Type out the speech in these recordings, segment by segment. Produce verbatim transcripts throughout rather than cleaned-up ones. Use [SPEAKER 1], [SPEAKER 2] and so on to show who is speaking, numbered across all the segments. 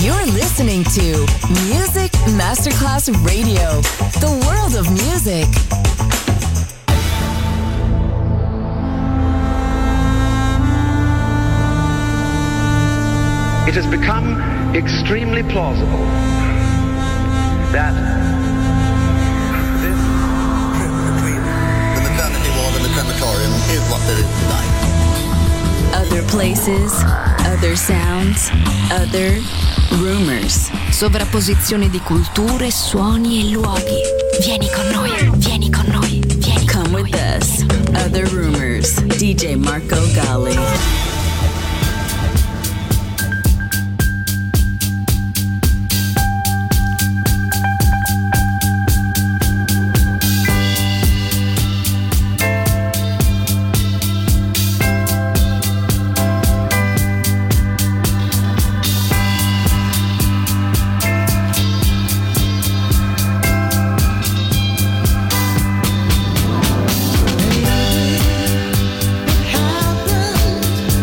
[SPEAKER 1] You're listening to Music Masterclass Radio, the world of music.
[SPEAKER 2] It has become extremely plausible that this trip between the maternity ward and the crematorium is what there is tonight.
[SPEAKER 1] Other places, other sounds, other rumors.
[SPEAKER 3] Sovrapposizione di culture, suoni e luoghi. Vieni con noi, vieni con noi, vieni con
[SPEAKER 1] Come
[SPEAKER 3] noi.
[SPEAKER 1] with us. Other rumors. D J Marco Gally.
[SPEAKER 4] Happened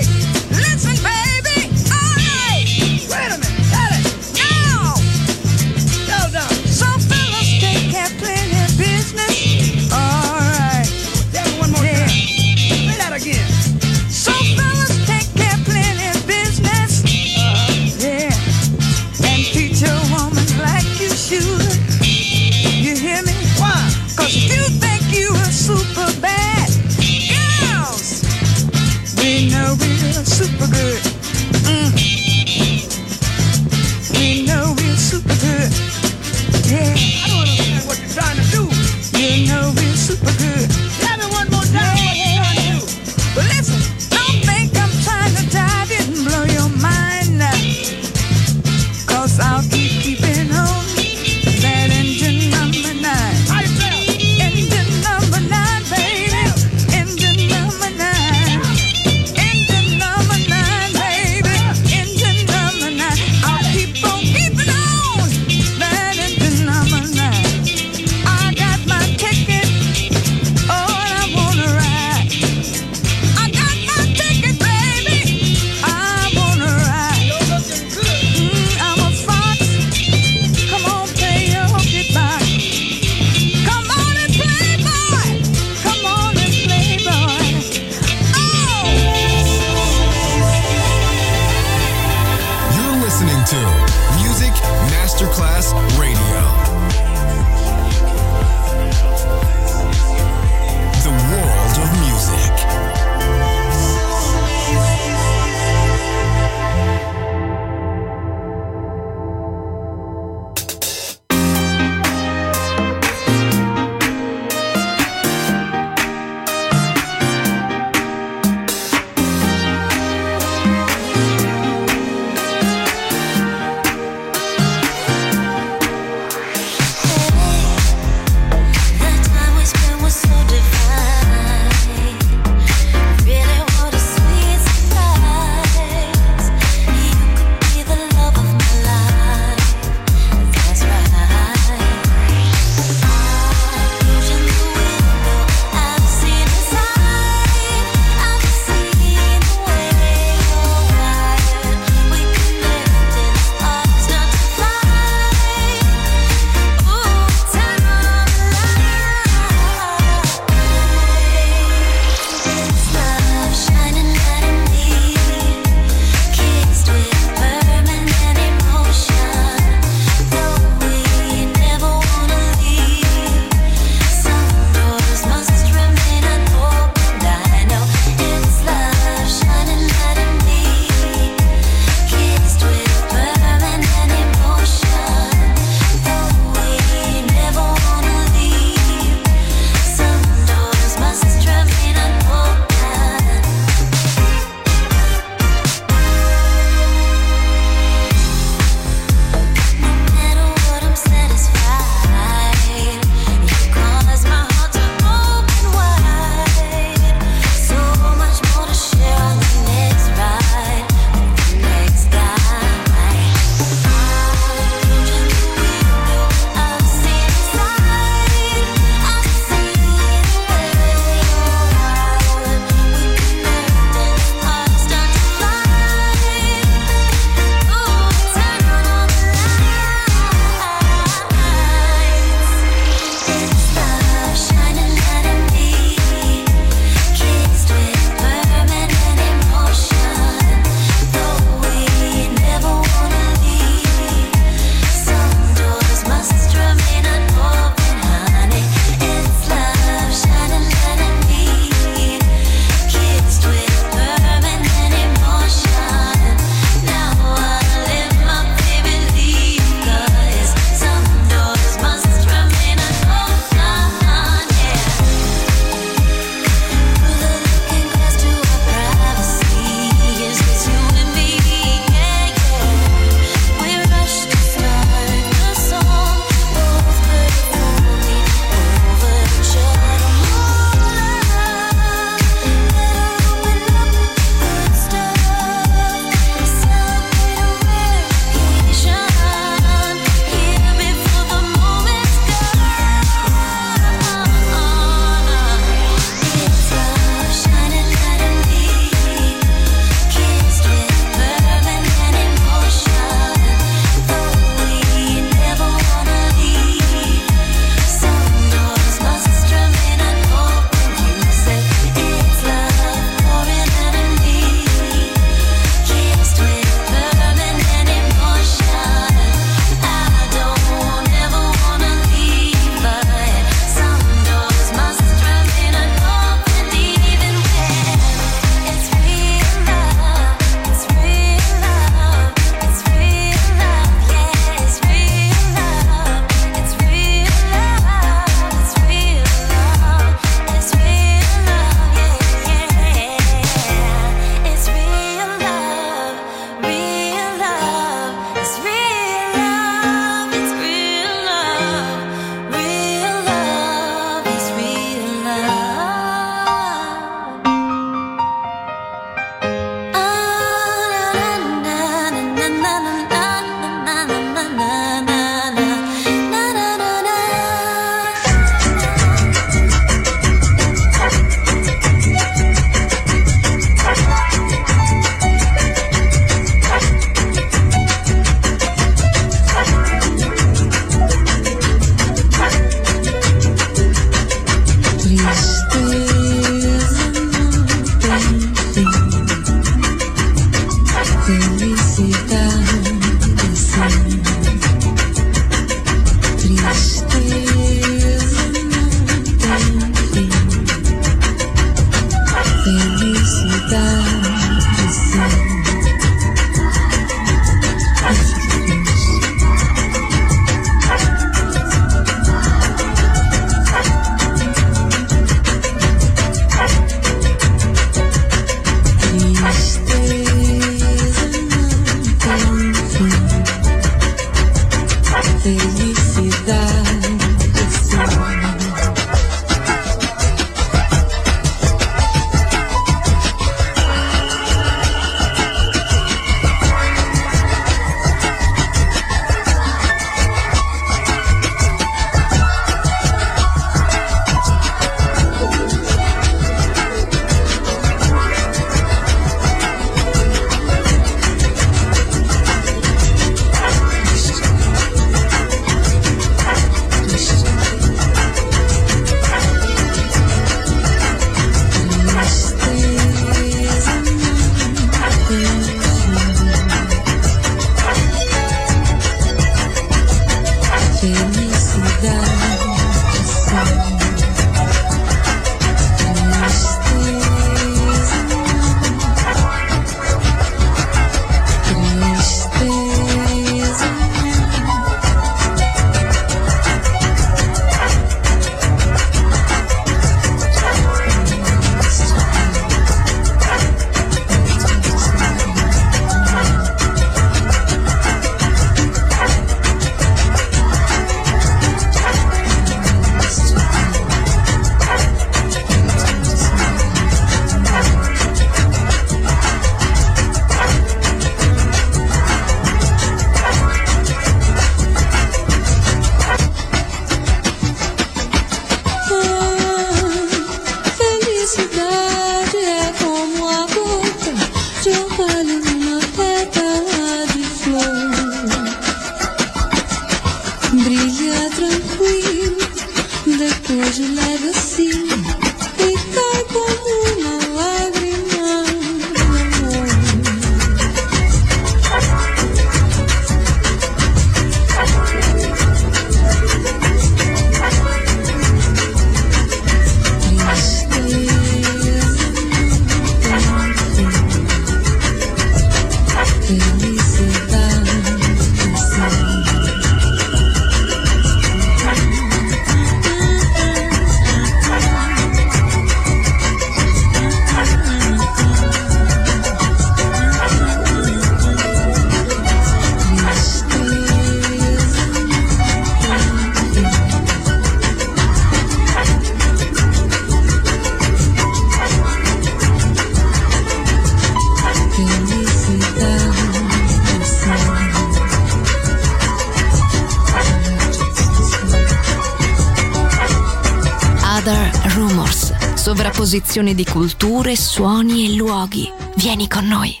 [SPEAKER 3] Sovrapposizione di culture, suoni e luoghi. Vieni con noi.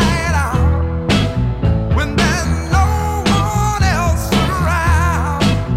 [SPEAKER 4] When there's no one else around.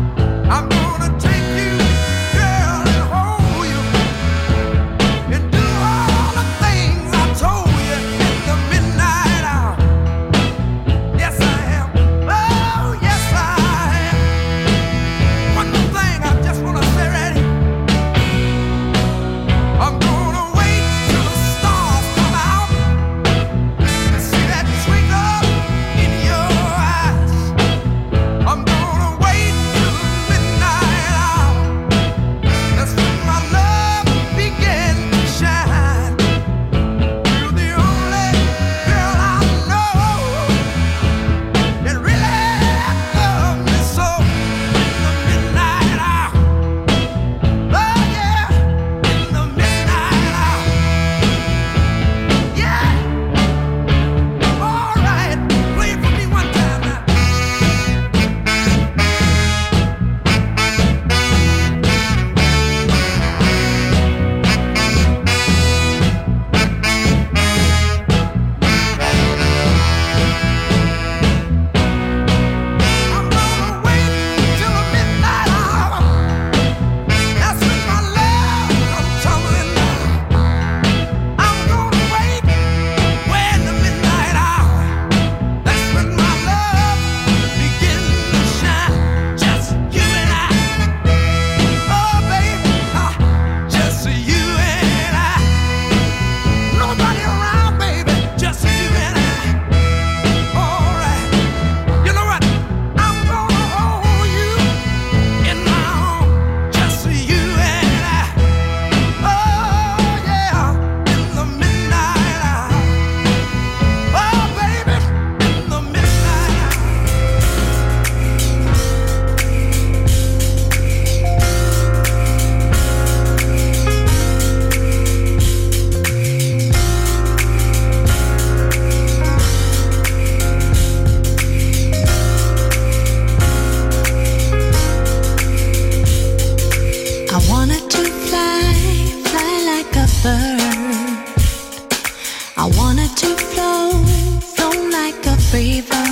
[SPEAKER 3] I wanted to flow, flow like a river.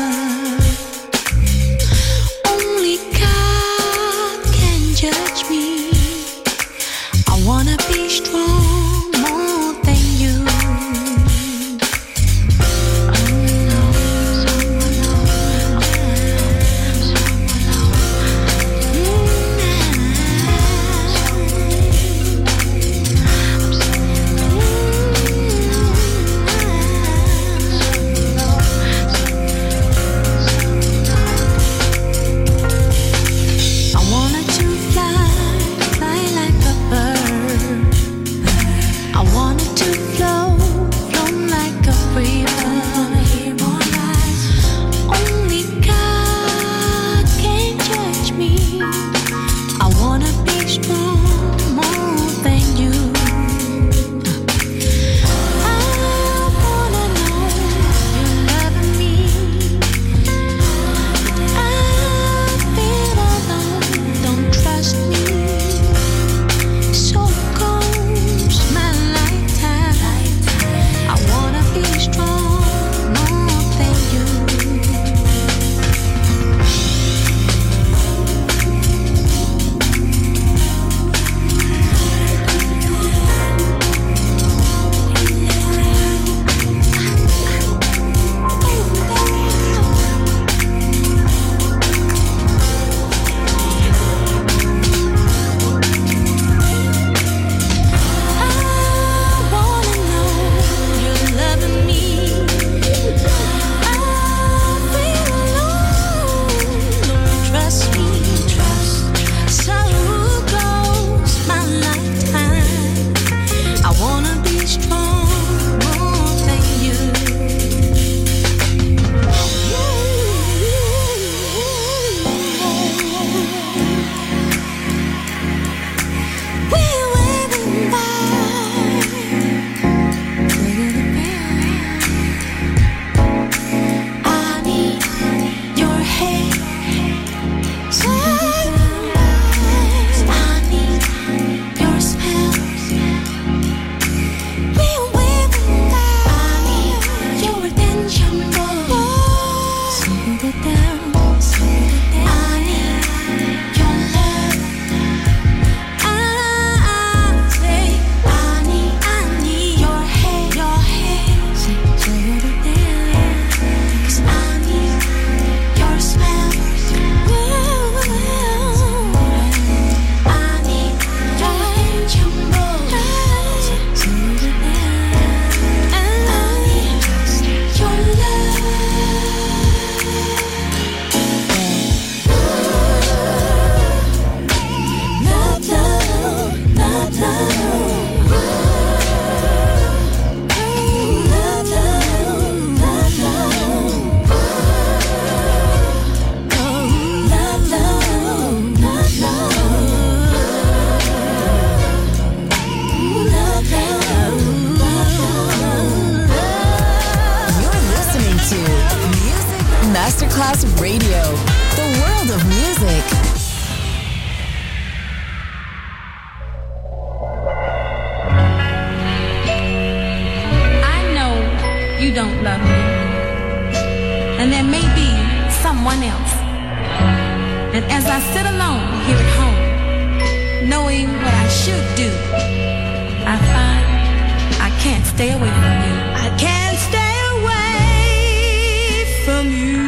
[SPEAKER 3] Only God can judge me. I wanna be strong more than you.
[SPEAKER 1] Masterclass Radio, the world of music.
[SPEAKER 4] I know you don't love me, and there may be someone else. And as I sit alone here at home, knowing what I should do, I find I can't stay away from you. I can't stay away from you.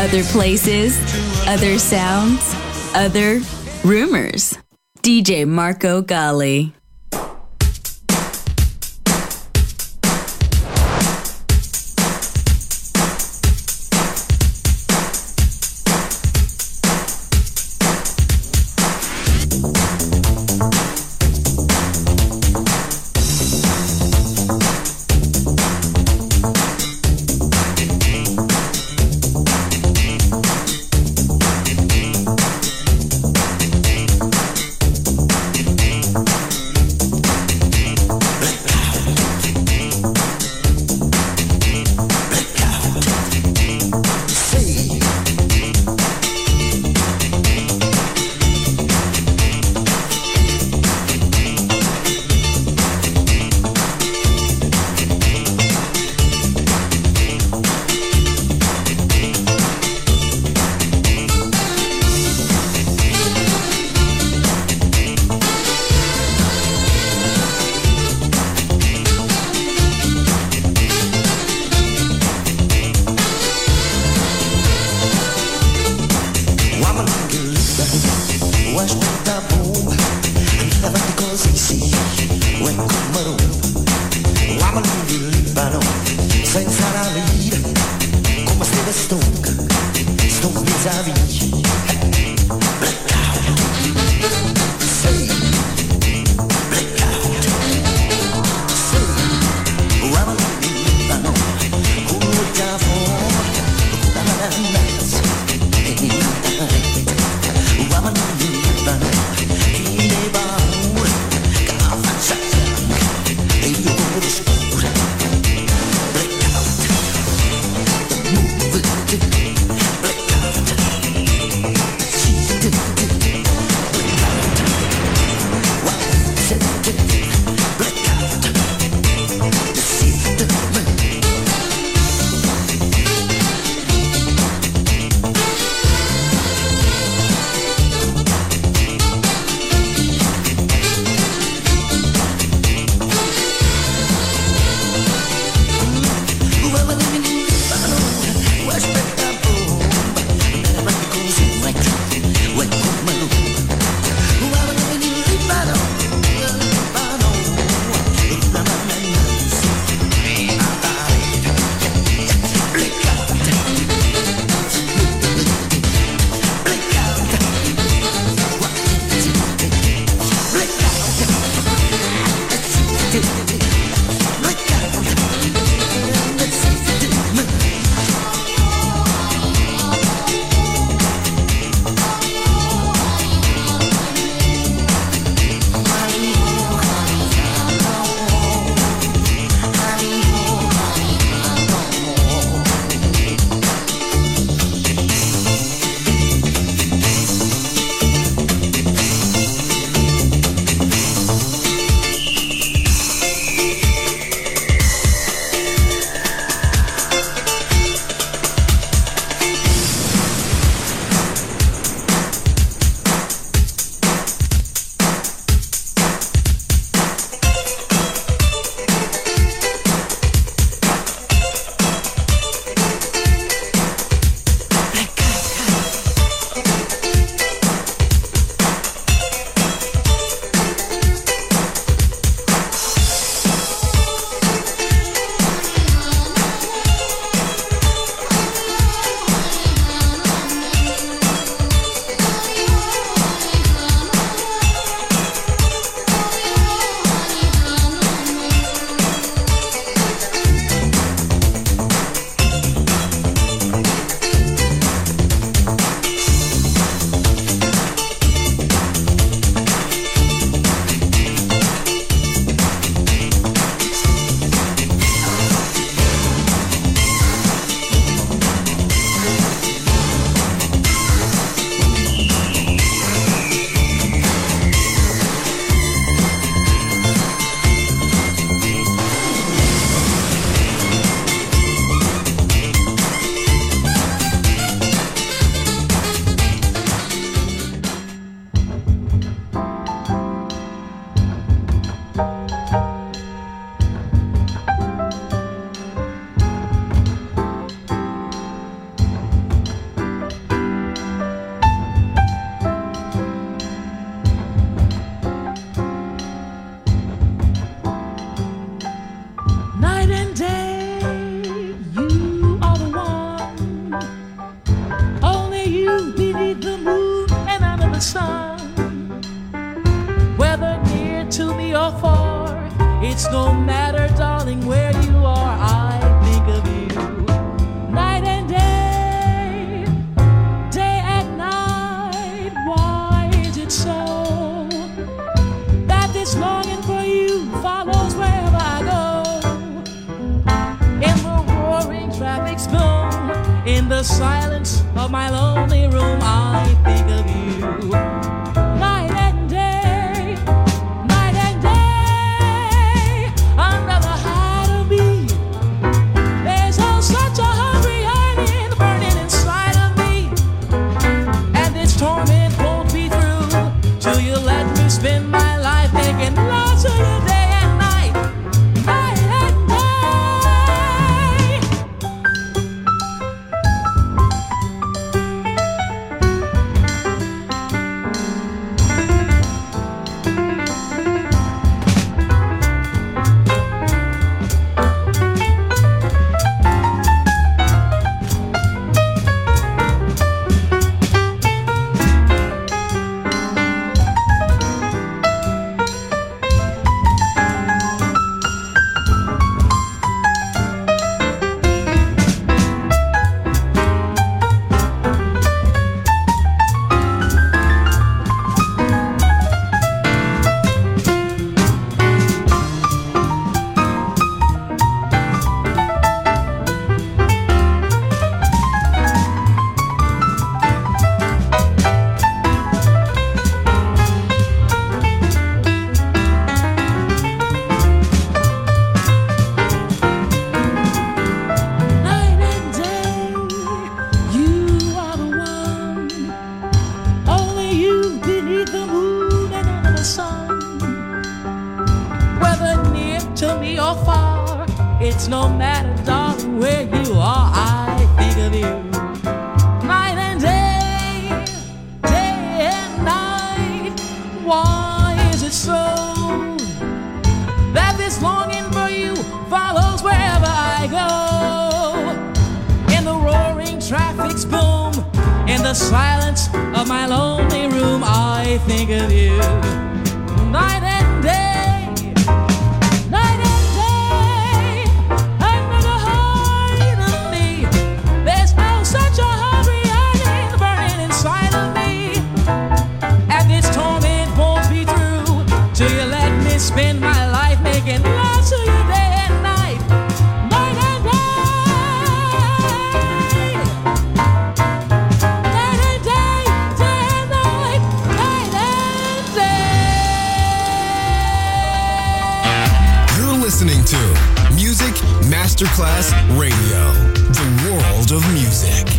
[SPEAKER 3] Other places, other sounds, other rumors. D J Marco Gally.
[SPEAKER 5] the silence of my lonely room, I think of you. Night and day, night and day, under the hide of me. There's oh such a hungry yearning burning inside of me, and this torment won't be through till you let me spend my life making love to you day and night, night and day. It's no matter, darling, where you are, I think of you. Night and day, day and night. Why is it so that this longing for you follows wherever I go? In the roaring traffic's boom, in the silence of my lonely room, I think of you. Night and day. Spend my life making love to you day and night, night and day, night and day, day and night, night and day.
[SPEAKER 6] You're listening to Music Masterclass Radio, the world of music.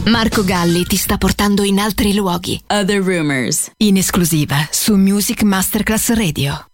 [SPEAKER 3] Marco Galli ti sta portando in altri luoghi.
[SPEAKER 1] Other Rumors.
[SPEAKER 3] In esclusiva su Music Masterclass Radio.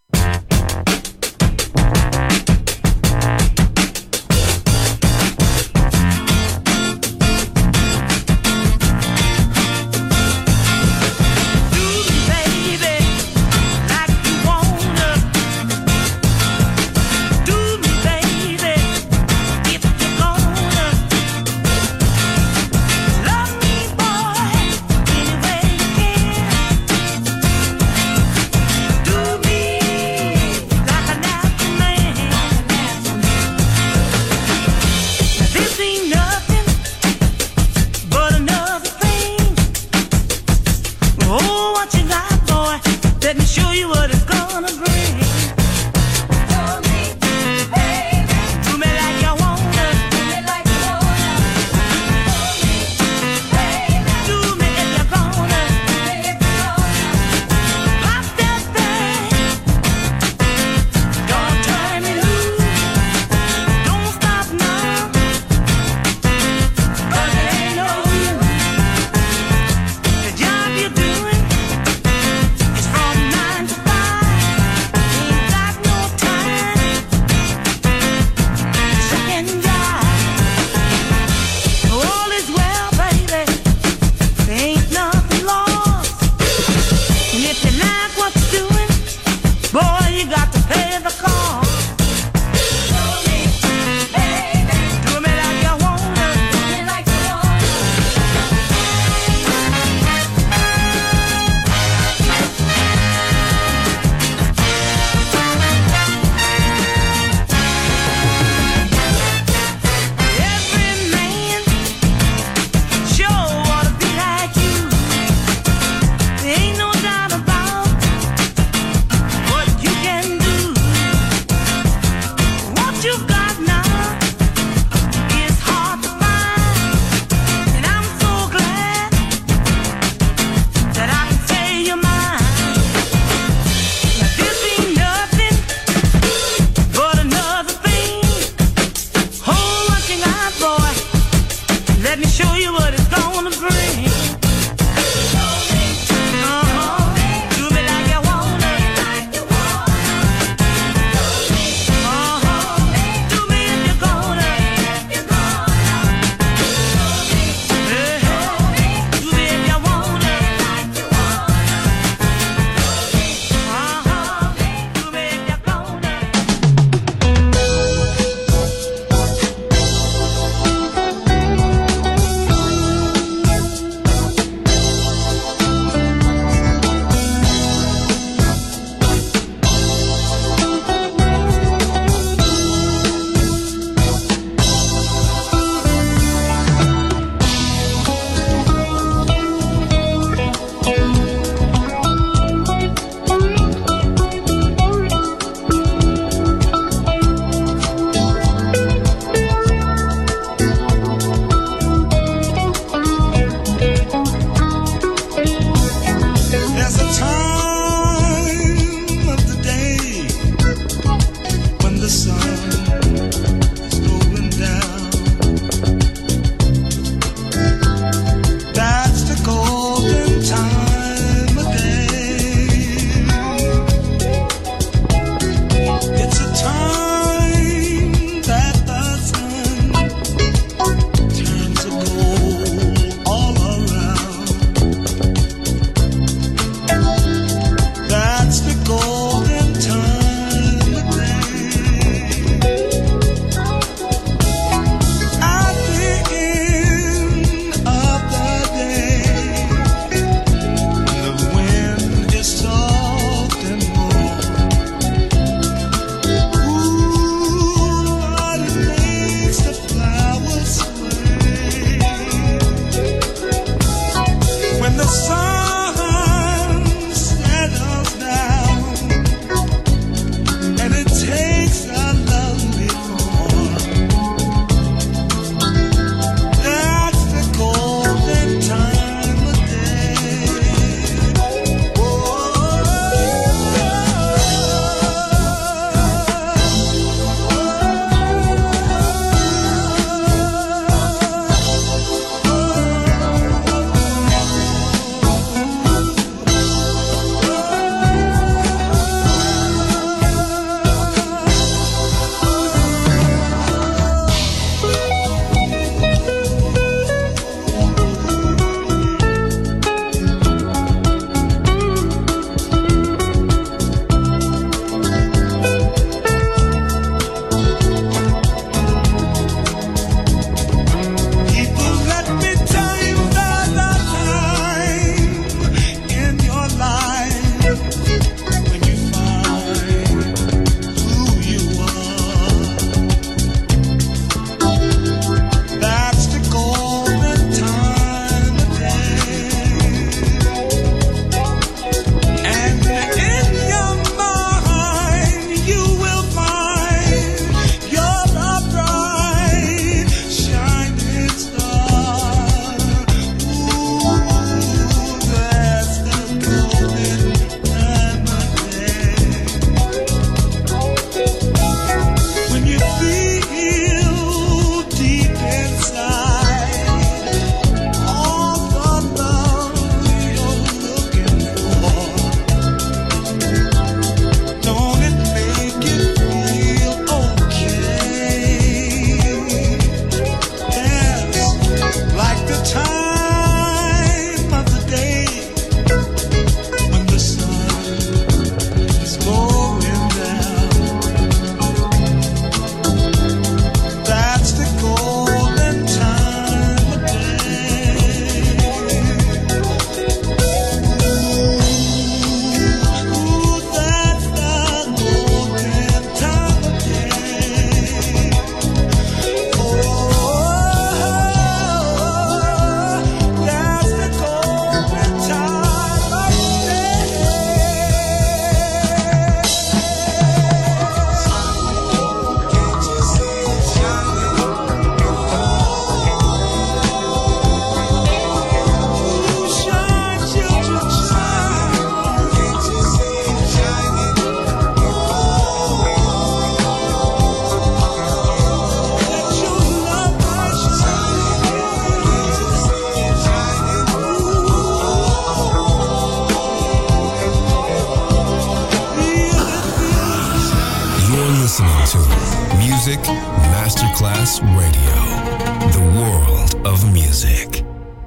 [SPEAKER 6] Masterclass Radio, the world of music.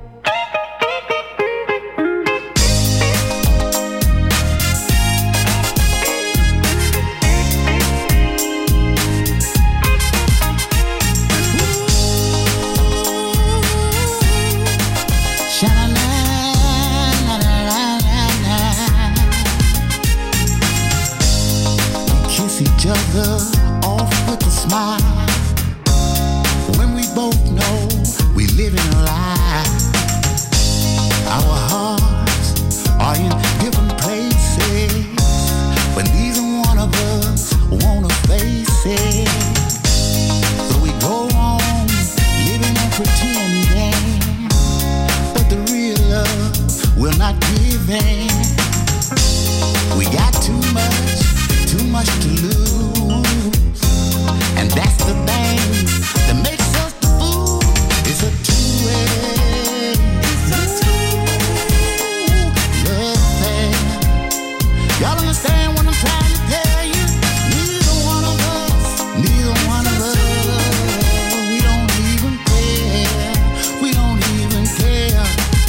[SPEAKER 7] Each other off with a smile when we both know we live in a lie. Our hearts are in different places, but neither one of us wanna face it. So we go on living and pretending, but the real love we're not giving. We got too much, too much to lose, and that's the thing that makes us the fool. It's a two-way, it's a two-way love affair. Y'all understand what I'm trying to tell you? Neither one of us, neither one of us, we don't even care, we don't even care.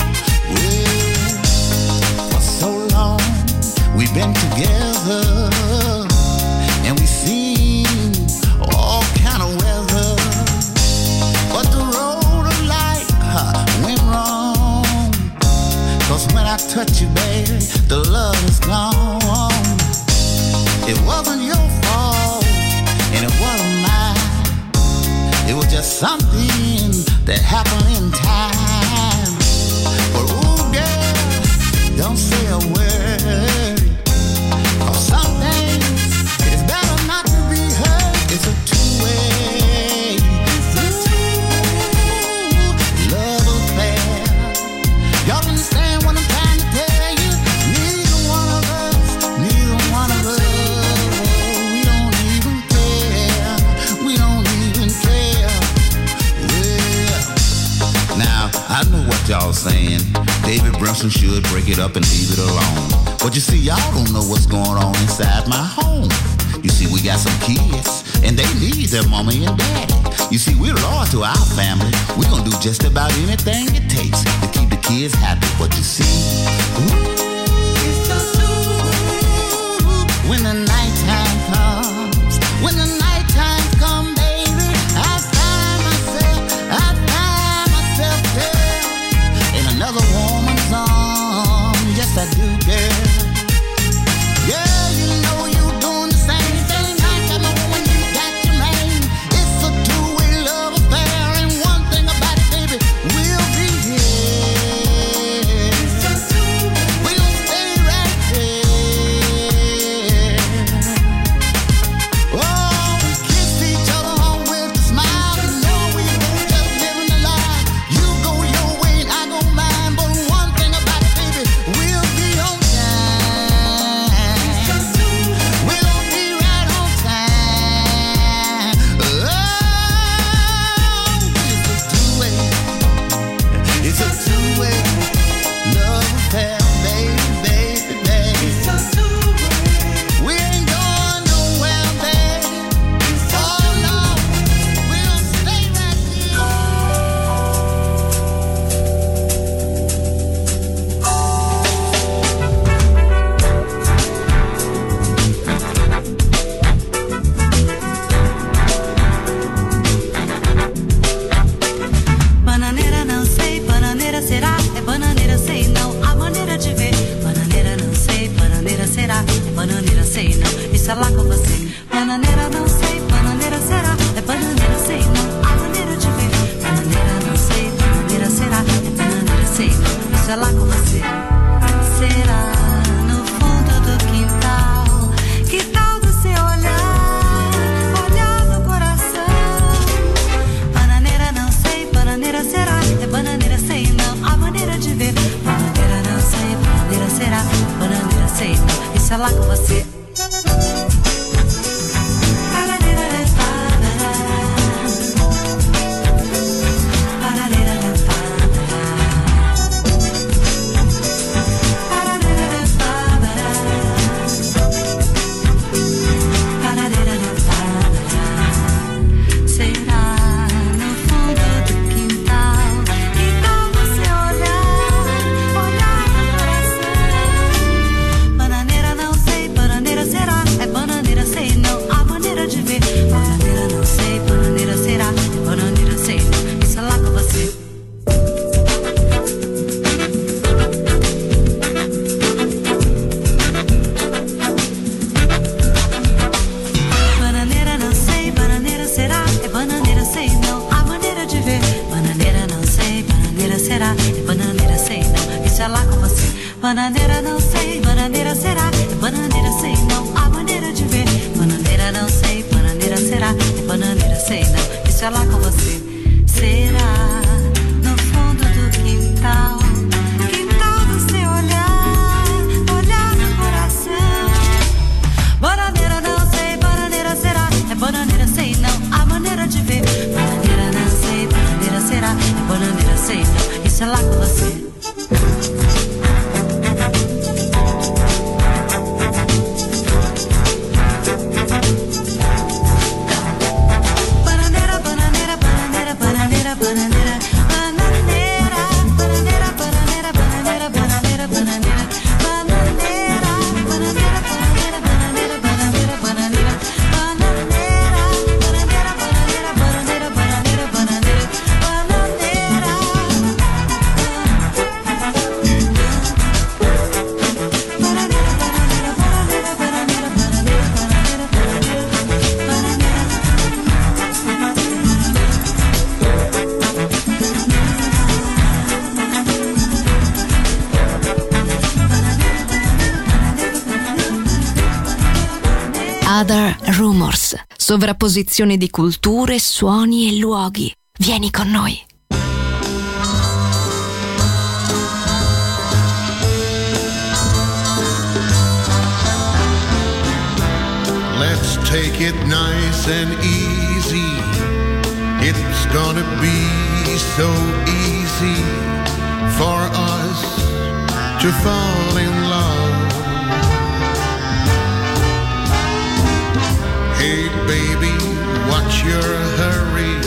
[SPEAKER 7] Well, for so long we've been together, and we seen all kind of weather, but the road of life huh, went wrong. Cause when I touch you, baby, the love is gone. It wasn't your fault, and it wasn't mine. It was just something that happened in time. But ooh, girl, don't say a word, cause some things it's better not to be heard. It's a two-way, it's a two-way love affair. Y'all understand what I'm trying to tell you? Neither one of us, neither one of us, we don't even care, we don't even care. Well, now I know what y'all saying. David Brunson should break it up and leave it alone. But you see, y'all don't know what's going on inside my home. You see, we got some kids, and they need their mommy and daddy. You see, we're loyal to our family. We're gonna do just about anything it takes to keep the kids happy. But you see, ooh, it's so true. When the nighttime comes, when the nighttime comes, baby, I find myself, I find myself there in another woman's arms. Yes, I do, girl. Yeah, you know you're doing the same thing. I got my woman, you got your man. It's a two-way love affair, and one thing about it, baby, we'll be here. We'll stay right there. Oh, we kiss each other on with a smile. You know we both just living the life. You go your way and I go mine, but one thing about it, baby, we'll be on time. We'll be right on time. Oh, it's a two-way, it's a two-way love affair, baby, baby, baby. We ain't going nowhere, baby. Oh no, we'll stay right
[SPEAKER 8] Bananeira não sei, bananeira será, é bananeira sei não, a maneira de ver. Bananeira não sei, bananeira será, é bananeira sei não, isso é lá com você. Bananeira não sei, bananeira será, é bananeira sei não, a maneira de ver. Bananeira não sei, bananeira será, é bananeira sei não, isso é lá com você. Será no fundo do quintal, que tal do seu olhar, olhar no coração. Bananeira não sei, bananeira será, é bananeira sei não, a maneira de ver. Bananeira não sei, bananeira será, bananeira sei não, isso é lá com você.
[SPEAKER 3] Other Rumors, sovrapposizione di culture, suoni e luoghi. Vieni con noi.
[SPEAKER 7] Let's take it nice and easy. It's gonna be so easy for us to fall in love. Hey baby, what's your hurry?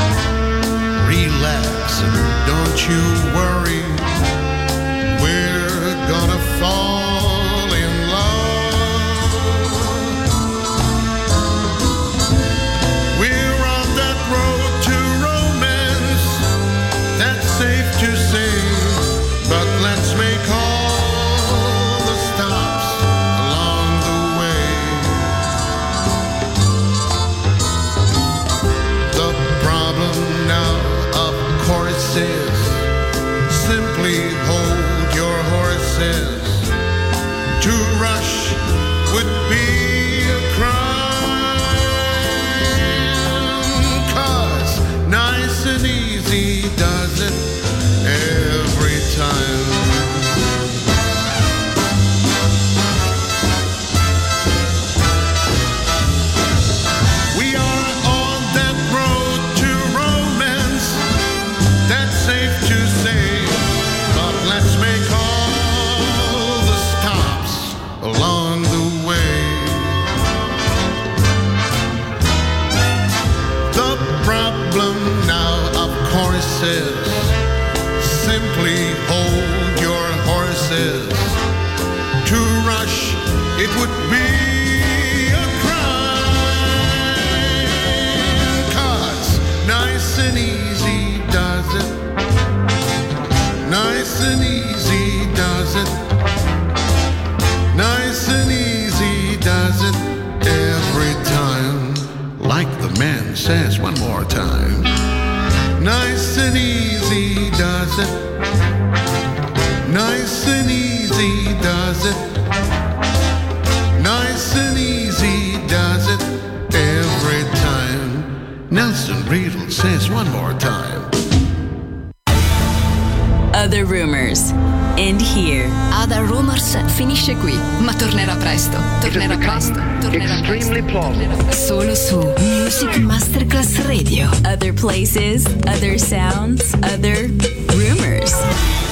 [SPEAKER 7] Relax and don't you worry. We're gonna fall in love. We're on that road to romance, that's safe to say, but let's make all the stops along the way. The problem now, of course, is simply hold your horses. To rush would be a crime, 'cause nice and easy does it every time. We are on that road to romance, that's safe to say, but let's make all the stops along the way. The problem now, of course, is simply hold your horses. To rush, it would be a crime, 'cause nice and easy does it. Nice and easy does it. Nice and easy does it every time. Like the man says one more time. Nice and easy does it. Nice and easy does it. Nice and easy does it every time. Nelson Riddle says one more time.
[SPEAKER 1] Other Rumors. End here.
[SPEAKER 3] Other Rumors finisce qui, ma tornerà presto. Tornerà presto. Tornerà
[SPEAKER 2] Extremely
[SPEAKER 3] presto.
[SPEAKER 2] plausible
[SPEAKER 3] Solo su Music Masterclass Radio.
[SPEAKER 1] Other places, other sounds, other rumors.